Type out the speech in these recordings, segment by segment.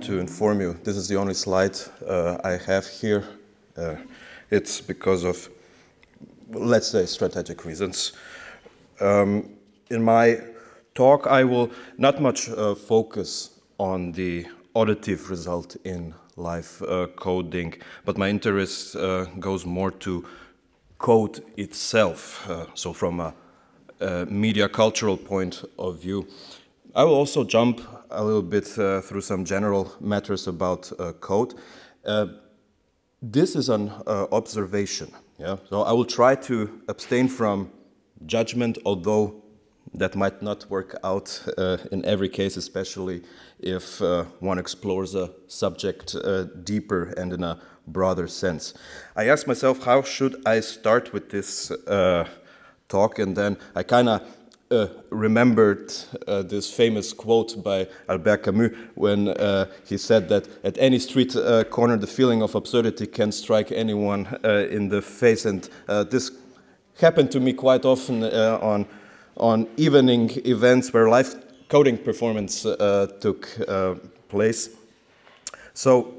want to inform you, this is the only slide I have here. It's because of, let's say, strategic reasons. In my talk, I will not much focus on the auditive result in live coding, but my interest goes more to code itself, so from a media cultural point of view. I will also jump a little bit through some general matters about code. This is an observation, yeah? So I will try to abstain from judgment, although that might not work out in every case, especially if one explores a subject deeper and in a broader sense. I asked myself, how should I start with this talk? And then I kind of remembered this famous quote by Albert Camus when he said that at any street corner the feeling of absurdity can strike anyone in the face, and this happened to me quite often on evening events where live coding performance took place. So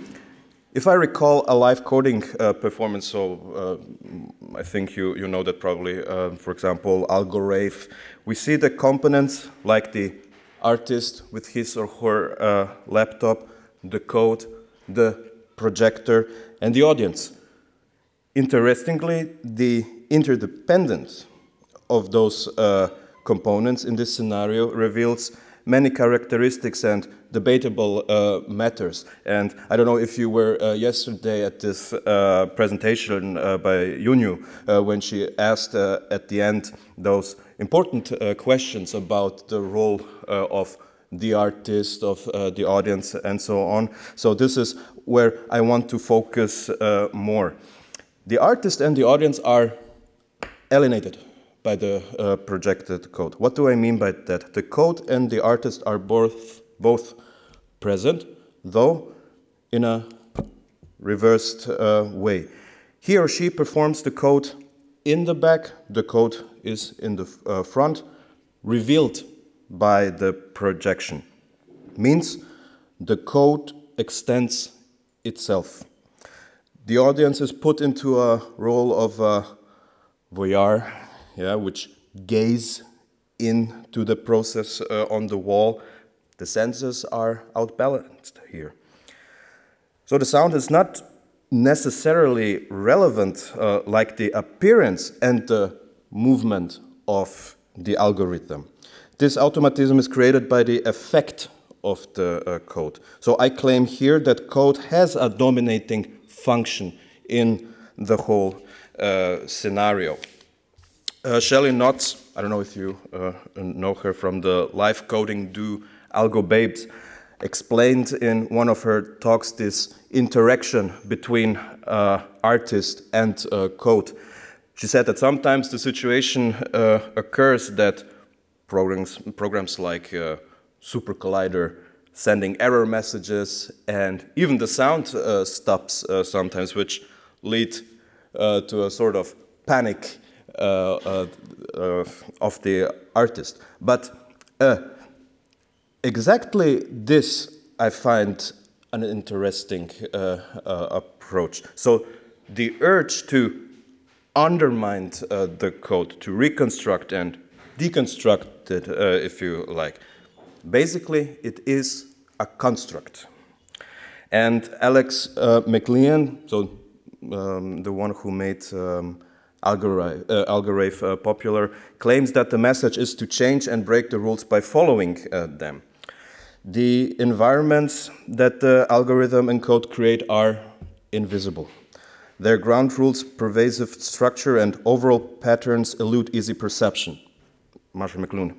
if I recall a live coding performance, so I think you know that probably, for example, Algorave, we see the components like the artist with his or her laptop, the code, the projector, and the audience. Interestingly, the interdependence of those components in this scenario reveals many characteristics and debatable matters. And I don't know if you were yesterday at this presentation by Yunyu when she asked at the end those important questions about the role of the artist, of the audience, and so on. So this is where I want to focus more. The artist and the audience are alienated by the projected code. What do I mean by that? The code and the artist are both present, though in a reversed way. He or she performs the code in the back, the code is in the front, revealed by the projection. Means the code extends itself. The audience is put into a role of voyeur, yeah, which gaze into the process on the wall. The senses are outbalanced here. So the sound is not necessarily relevant like the appearance and the movement of the algorithm. This automatism is created by the effect of the code. So I claim here that code has a dominating function in the whole scenario. Shelley Knotts, I don't know if you know her from the live coding do Algo Babes, explained in one of her talks this interaction between artist and code. She said that sometimes the situation occurs that programs like Super Collider sending error messages, and even the sound stops sometimes, which lead to a sort of panic of the artist. But exactly this I find an interesting approach. So the urge to undermine the code, to reconstruct and deconstruct it, if you like. Basically, it is a construct. And Alex McLean, so the one who made Algorave popular, claims that the message is to change and break the rules by following them. The environments that the algorithm and code create are invisible. Their ground rules, pervasive structure, and overall patterns elude easy perception. Marshall McLuhan.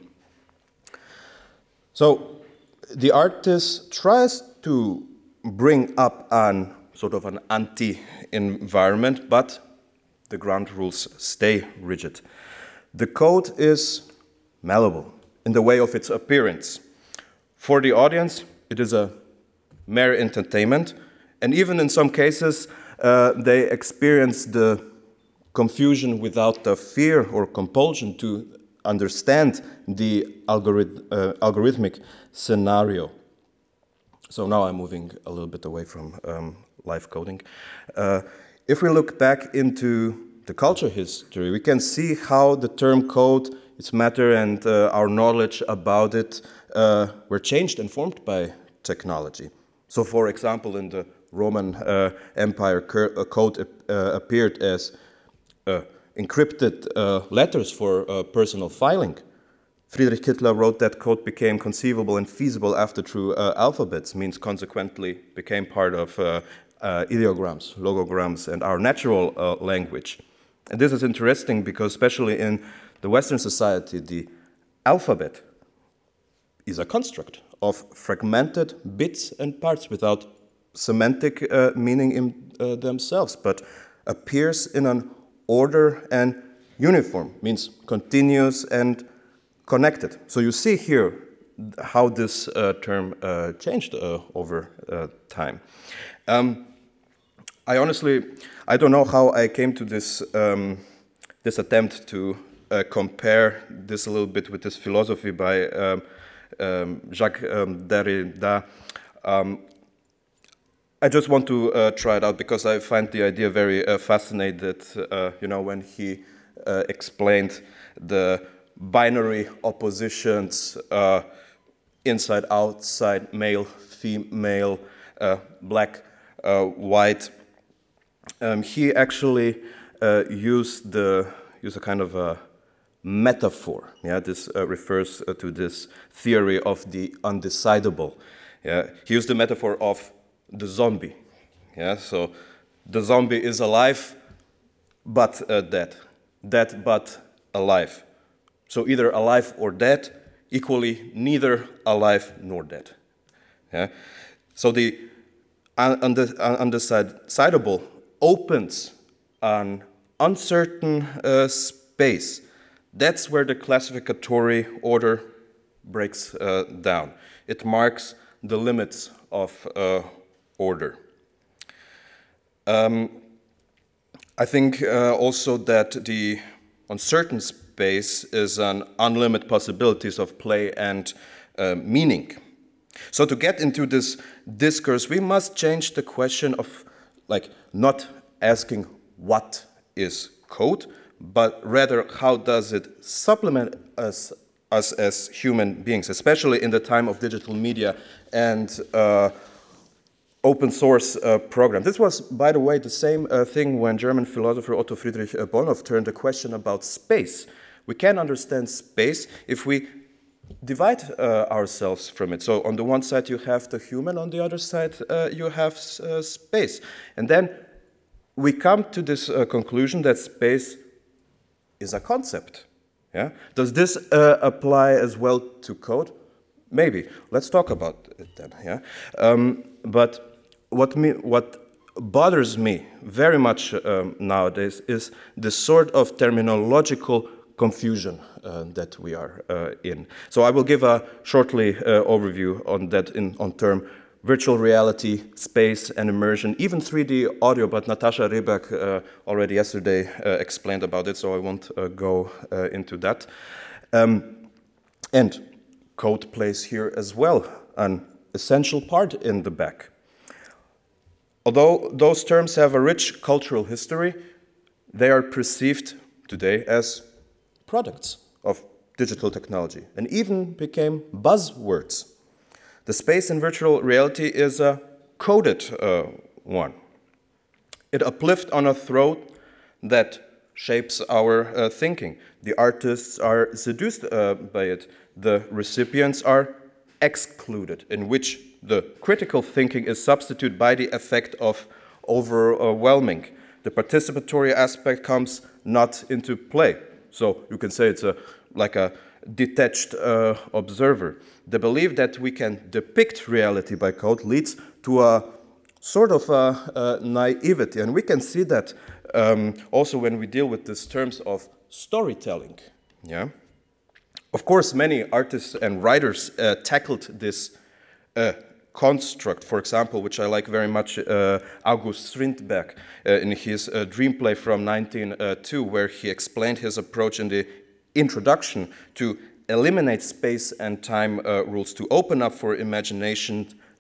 So the artist tries to bring up an sort of an anti-environment, but the ground rules stay rigid. The code is malleable in the way of its appearance. For the audience, it is a mere entertainment, and even in some cases, they experience the confusion without the fear or compulsion to understand the algorithmic scenario. So now I'm moving a little bit away from live coding. If we look back into the culture history, we can see how the term code, its matter, and our knowledge about it were changed and formed by technology. So, for example, in the Roman Empire, code appeared as encrypted letters for personal filing. Friedrich Kittler wrote that code became conceivable and feasible after true alphabets, means consequently became part of ideograms, logograms, and our natural language. And this is interesting because especially in the Western society, the alphabet is a construct of fragmented bits and parts without semantic meaning in themselves, but appears in an order and uniform, means continuous and connected. So you see here how this term changed over time. I don't know how I came to this this attempt to compare this a little bit with this philosophy by Jacques Derrida. I just want to try it out because I find the idea very fascinating. When he explained the binary oppositions, inside, outside, male, female, black, white. He actually used a kind of a metaphor. Yeah, this refers to this theory of the undecidable. Yeah, he used the metaphor of the zombie. Yeah, so the zombie is alive, but dead but alive. So either alive or dead, equally neither alive nor dead. Yeah? So the undecidable opens an uncertain space. That's where the classificatory order breaks down. It marks the limits of order. I think also that the uncertain space is an unlimited possibilities of play and meaning. So to get into this discourse, we must change the question of not asking what is code, but rather how does it supplement us as human beings, especially in the time of digital media and open source program. This was, by the way, the same thing when German philosopher Otto Friedrich Bonhoeffer turned the question about space. We can understand space if we divide ourselves from it. So on the one side you have the human, on the other side you have space. And then we come to this conclusion that space is a concept. Yeah? Does this apply as well to code? Maybe. Let's talk about it then. Yeah? But what bothers me very much nowadays is the sort of terminological confusion that we are in. So I will give a shortly overview on that on term virtual reality, space and immersion, even 3D audio, but Natasha Rybak already yesterday explained about it, so I won't go into that. And code plays here as well, an essential part in the back. Although those terms have a rich cultural history, they are perceived today as products of digital technology and even became buzzwords. The space in virtual reality is a coded one. It uplifts on a throat that shapes our thinking. The artists are seduced by it. The recipients are excluded, in which the critical thinking is substituted by the effect of overwhelming. The participatory aspect comes not into play. So you can say it's like a detached observer. The belief that we can depict reality by code leads to a sort of naivety. And we can see that also when we deal with these terms of storytelling. Yeah? Of course, many artists and writers tackled this construct, for example, which I like very much, August Strindberg in his Dream Play from 1902, where he explained his approach in the introduction to eliminate space and time rules, to open up for imagination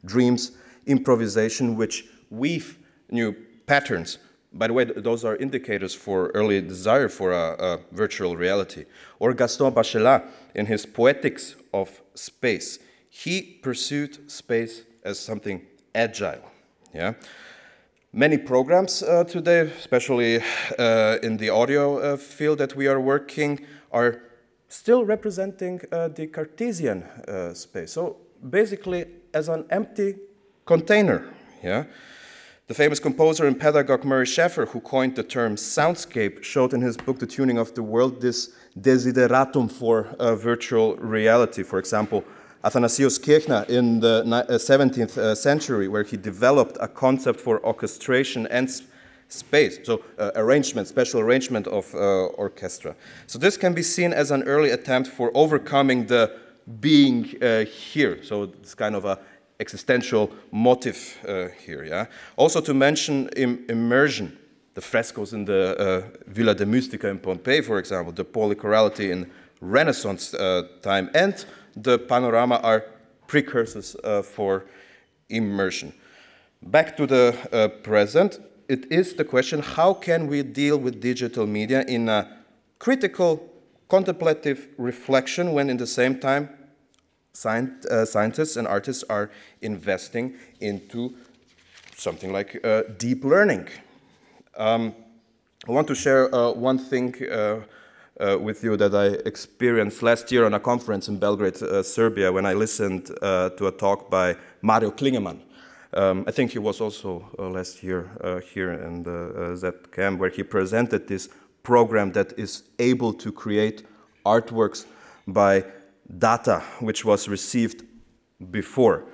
dreams, improvisation, which weave new patterns. By the way, those are indicators for early desire for a virtual reality. Or Gaston Bachelard, in his Poetics of Space, he pursued space as something agile. Yeah? Many programs today, especially in the audio field that we are working, are still representing the Cartesian space. So basically as an empty container. Yeah? The famous composer and pedagogue Murray Schafer, who coined the term soundscape, showed in his book The Tuning of the World this desideratum for virtual reality. For example, Athanasius Kirchner in the 17th century, where he developed a concept for orchestration and space, so arrangement, special arrangement of orchestra. So this can be seen as an early attempt for overcoming the being here. So it's kind of a existential motive here. Yeah. Also to mention immersion, the frescoes in the Villa de Mustica in Pompeii, for example, the polychorality in Renaissance time, and the panorama are precursors for immersion. Back to the present, it is the question, how can we deal with digital media in a critical, contemplative reflection when in the same time scientists and artists are investing into something like deep learning. I want to share one thing with you that I experienced last year on a conference in Belgrade, Serbia, when I listened to a talk by Mario Klingemann. I think he was also last year here in the ZCAM, where he presented this program that is able to create artworks by data which was received before.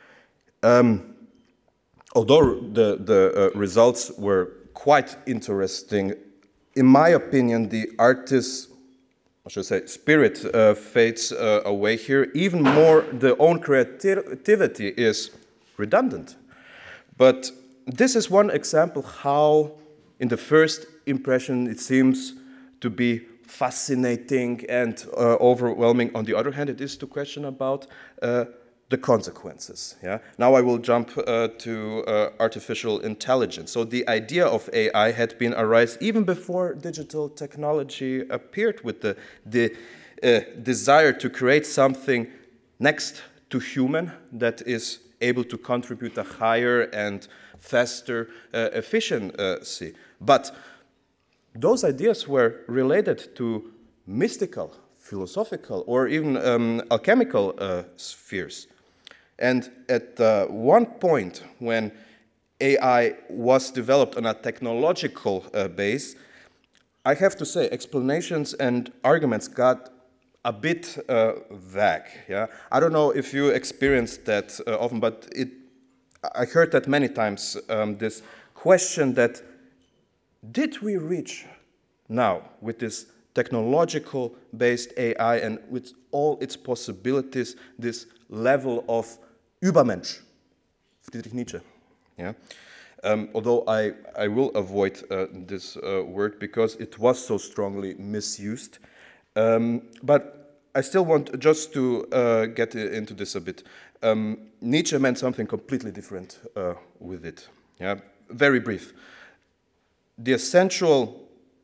Although the results were quite interesting, in my opinion, the artist's, I should say, spirit fades away here. Even more, the own creativity is redundant. But this is one example how, in the first impression, it seems to be fascinating and overwhelming. On the other hand, it is to question about the consequences. Yeah? Now I will jump to artificial intelligence. So the idea of AI had been arise even before digital technology appeared, with the desire to create something next to human that is able to contribute a higher and faster efficiency. But those ideas were related to mystical, philosophical, or even alchemical spheres. And at one point, when AI was developed on a technological base, I have to say explanations and arguments got a bit vague. Yeah? I don't know if you experienced that often, but I heard that many times, this question that, did we reach now with this technological-based AI and with all its possibilities, this level of Übermensch, Friedrich Nietzsche. Yeah? Although I will avoid this word because it was so strongly misused. But I still want just to get into this a bit. Nietzsche meant something completely different with it. Yeah? Very brief. The essential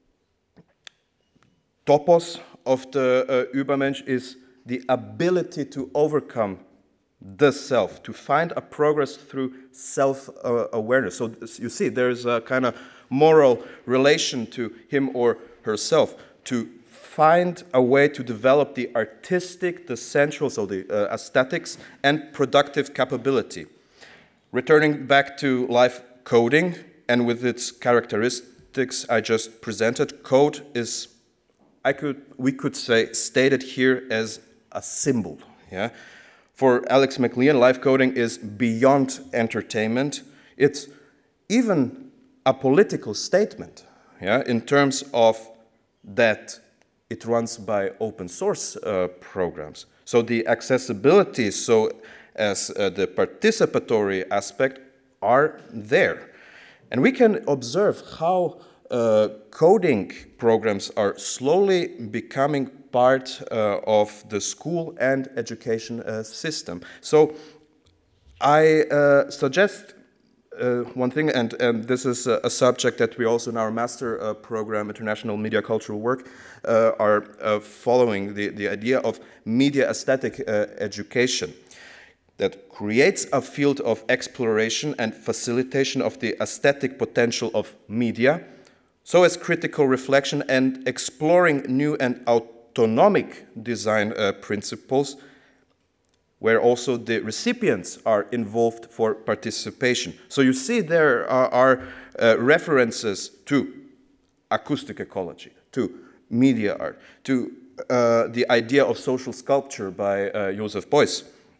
topos of the Übermensch is the ability to overcome the self, to find a progress through self-awareness. So you see, there's a kind of moral relation to him or herself, to find a way to develop the artistic, the sensual, so the aesthetics, and productive capability. Returning back to live coding, and with its characteristics I just presented, code is, we could say, stated here as a symbol. Yeah? For Alex McLean, live coding is beyond entertainment. It's even a political statement, yeah, in terms of that it runs by open source programs. So the accessibility, so as the participatory aspect are there. And we can observe how coding programs are slowly becoming part of the school and education system. So I suggest one thing, and this is a subject that we also in our master program, International Media Cultural Work, are following the idea of media aesthetic education that creates a field of exploration and facilitation of the aesthetic potential of media, so as critical reflection and exploring new and autonomic design principles, where also the recipients are involved for participation. So you see there are references to acoustic ecology, to media art, to the idea of social sculpture by Joseph Beuys.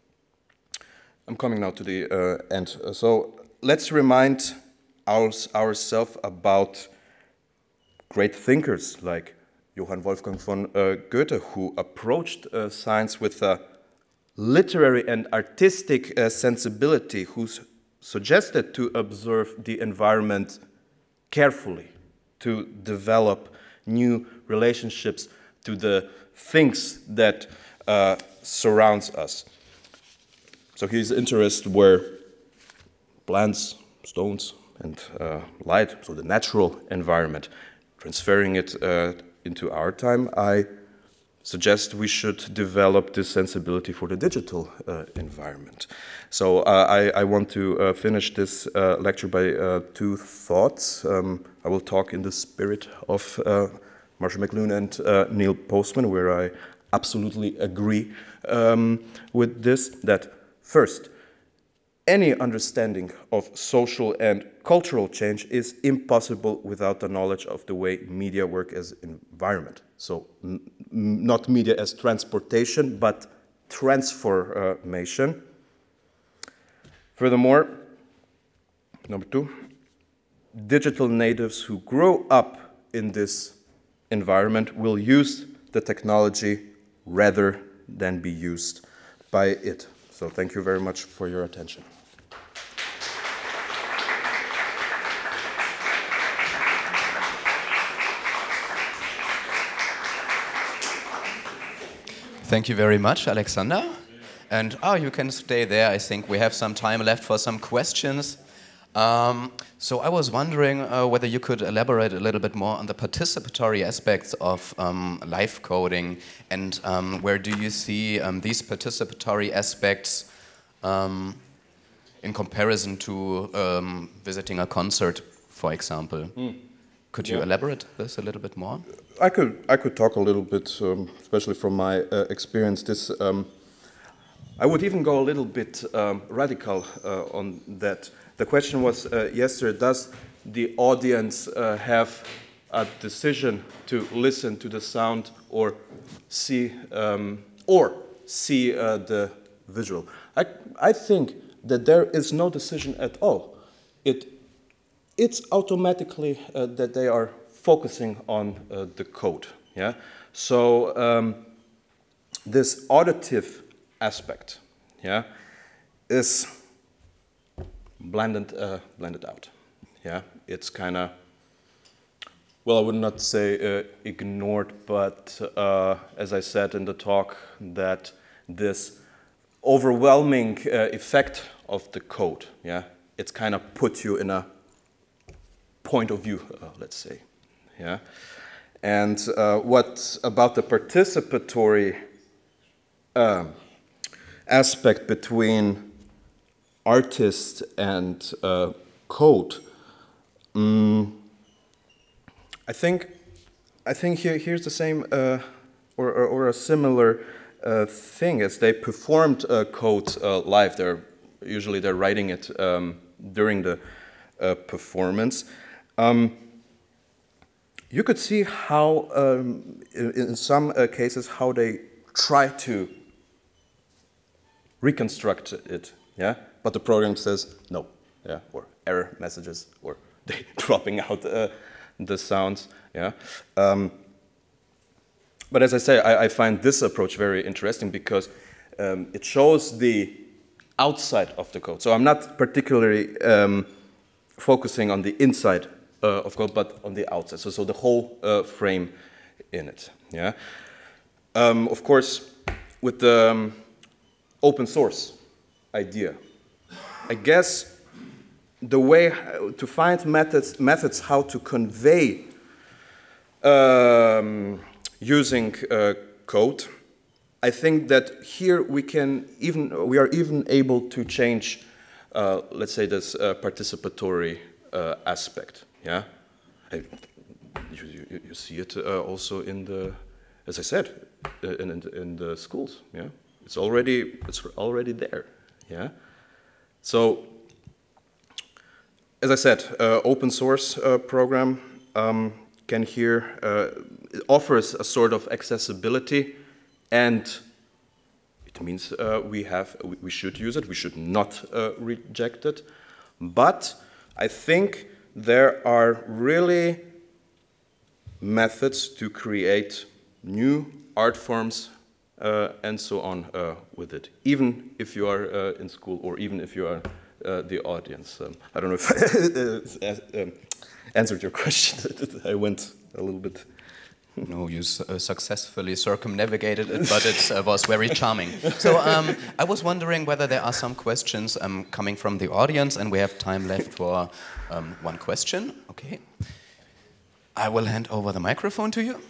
I'm coming now to the end. So let's remind ourselves about great thinkers like Johann Wolfgang von Goethe, who approached science with a literary and artistic sensibility, who suggested to observe the environment carefully, to develop new relationships to the things that surrounds us. So his interests were plants, stones, and light, so the natural environment. Transferring it into our time, I suggest we should develop this sensibility for the digital environment. So I want to finish this lecture by two thoughts. I will talk in the spirit of Marshall McLuhan and Neil Postman, where I absolutely agree with this, that first, any understanding of social and cultural change is impossible without the knowledge of the way media work as environment. So not media as transportation, but transformation. Furthermore, number two, digital natives who grow up in this environment will use the technology rather than be used by it. So thank you very much for your attention. Thank you very much, Alexander. And you can stay there. I think we have some time left for some questions. So I was wondering whether you could elaborate a little bit more on the participatory aspects of live coding, and where do you see these participatory aspects in comparison to visiting a concert, for example? Could you elaborate this a little bit more? I could talk a little bit, especially from my experience. This I would even go a little bit radical on that. The question was yesterday: does the audience have a decision to listen to the sound or see the visual? I think that there is no decision at all. It's automatically that they are focusing on the code. Yeah. So this auditive aspect, yeah, is blended out. Yeah. It's kind of, well, I would not say ignored, but as I said in the talk, that this overwhelming effect of the code, yeah, it's kind of put you in a point of view, let's say, yeah. And what about the participatory aspect between artist and code? I think here's the same or a similar thing as they performed code live. They're writing it during the performance. You could see how, in some cases, how they try to reconstruct it, yeah. But the program says no, yeah, or error messages, or they dropping out the sounds, yeah. But as I say, I find this approach very interesting because it shows the outside of the code. So I'm not particularly focusing on the inside of code, but on the outside. So the whole frame in it. Yeah. Of course, with the open source idea, I guess the way to find methods how to convey using code, I think that here we are even able to change, let's say, this participatory aspect. Yeah, you see it also in the, as I said, in the schools. Yeah, it's already there. Yeah, so as I said, open source program can here it offers a sort of accessibility. And it means we should use it. We should not reject it. But I think there are really methods to create new art forms and so on with it, even if you are in school or even if you are the audience. I don't know if I answered your question. I went a little bit. No, you successfully circumnavigated it, but it was very charming. So I was wondering whether there are some questions coming from the audience, and we have time left for one question. Okay. I will hand over the microphone to you.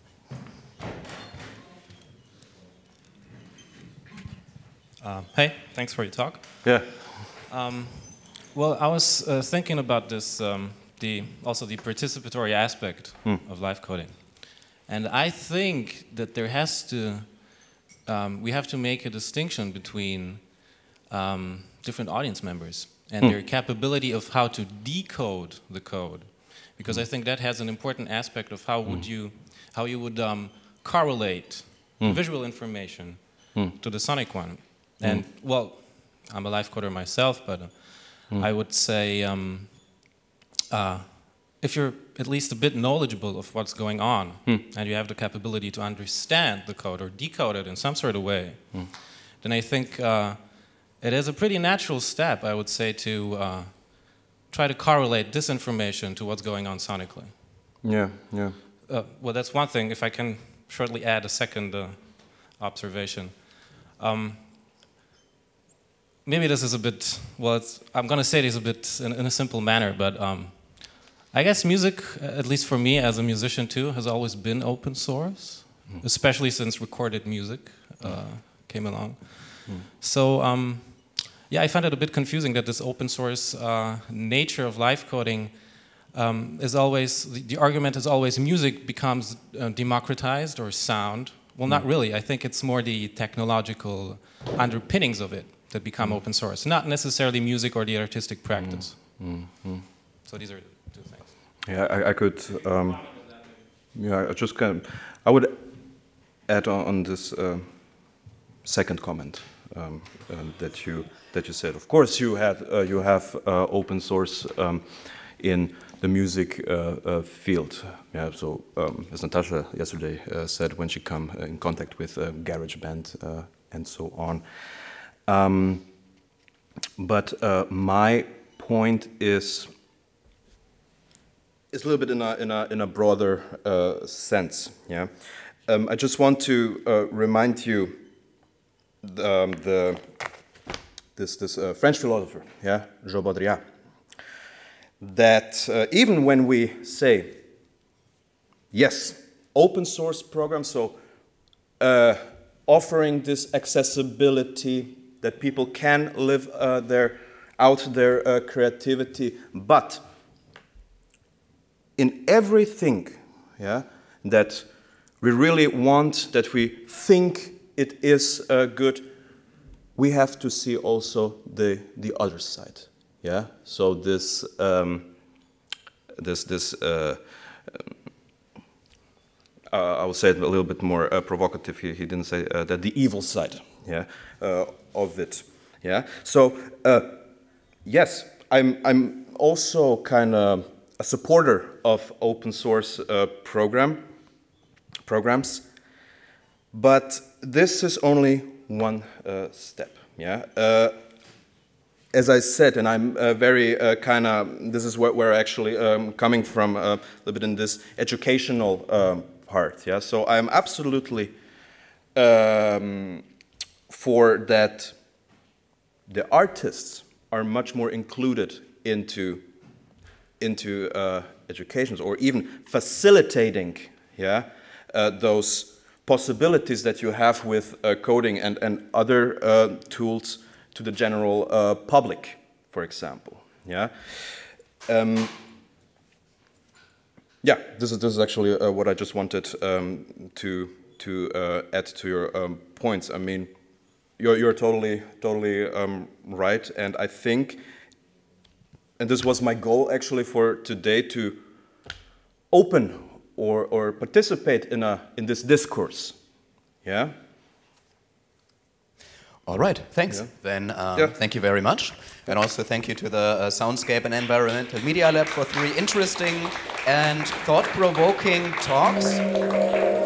Hey, thanks for your talk. Yeah. Well, I was thinking about this, also the participatory aspect of live coding. And I think that there has to, we have to make a distinction between different audience members and their capability of how to decode the code. Because I think that has an important aspect of how you would correlate visual information to the sonic one. And well, I'm a live coder myself, but I would say if you're at least a bit knowledgeable of what's going on and you have the capability to understand the code or decode it in some sort of way, then I think it is a pretty natural step, I would say, to try to correlate this information to what's going on sonically. Yeah, yeah. Well, that's one thing. If I can shortly add a second observation. Maybe this is a bit, well, I'm going to say this a bit in a simple manner, but I guess music, at least for me as a musician too, has always been open source, especially since recorded music came along. So, yeah, I find it a bit confusing that this open source nature of live coding is always, the argument is always music becomes democratized or sound. Well, not really. I think it's more the technological underpinnings of it that become open source, not necessarily music or the artistic practice. So these are two things. Yeah, I could. Yeah, I would add on this second comment that you said. Of course, you have open source in the music field. Yeah. So as Natasha yesterday said, when she come in contact with GarageBand and so on. But my point is a little bit in a broader sense. Yeah, I just want to remind you this French philosopher, yeah, Jean Baudrillard, that even when we say yes, open source program, so offering this accessibility that people can live their creativity, but in everything, yeah, that we really want, that we think it is good, we have to see also the other side, yeah. So this I will say it a little bit more provocative. He didn't say that the evil side, yeah, of it, yeah. So yes, I'm also kind of a supporter of open source programs, but this is only one step, yeah. As I said, and I'm very kind of, this is where I actually coming from a little bit in this educational part, yeah. So I'm absolutely for that the artists are much more included into educations, or even facilitating, those possibilities that you have with coding and other tools to the general public, for example. This is actually what I just wanted to add to your points. I mean, you're totally right, and I think, and this was my goal actually for today, to open or participate in this discourse. Yeah. All right, thanks. Then thank you very much. And also thank you to the Soundscape and Environmental Media Lab for 3 interesting and thought-provoking talks.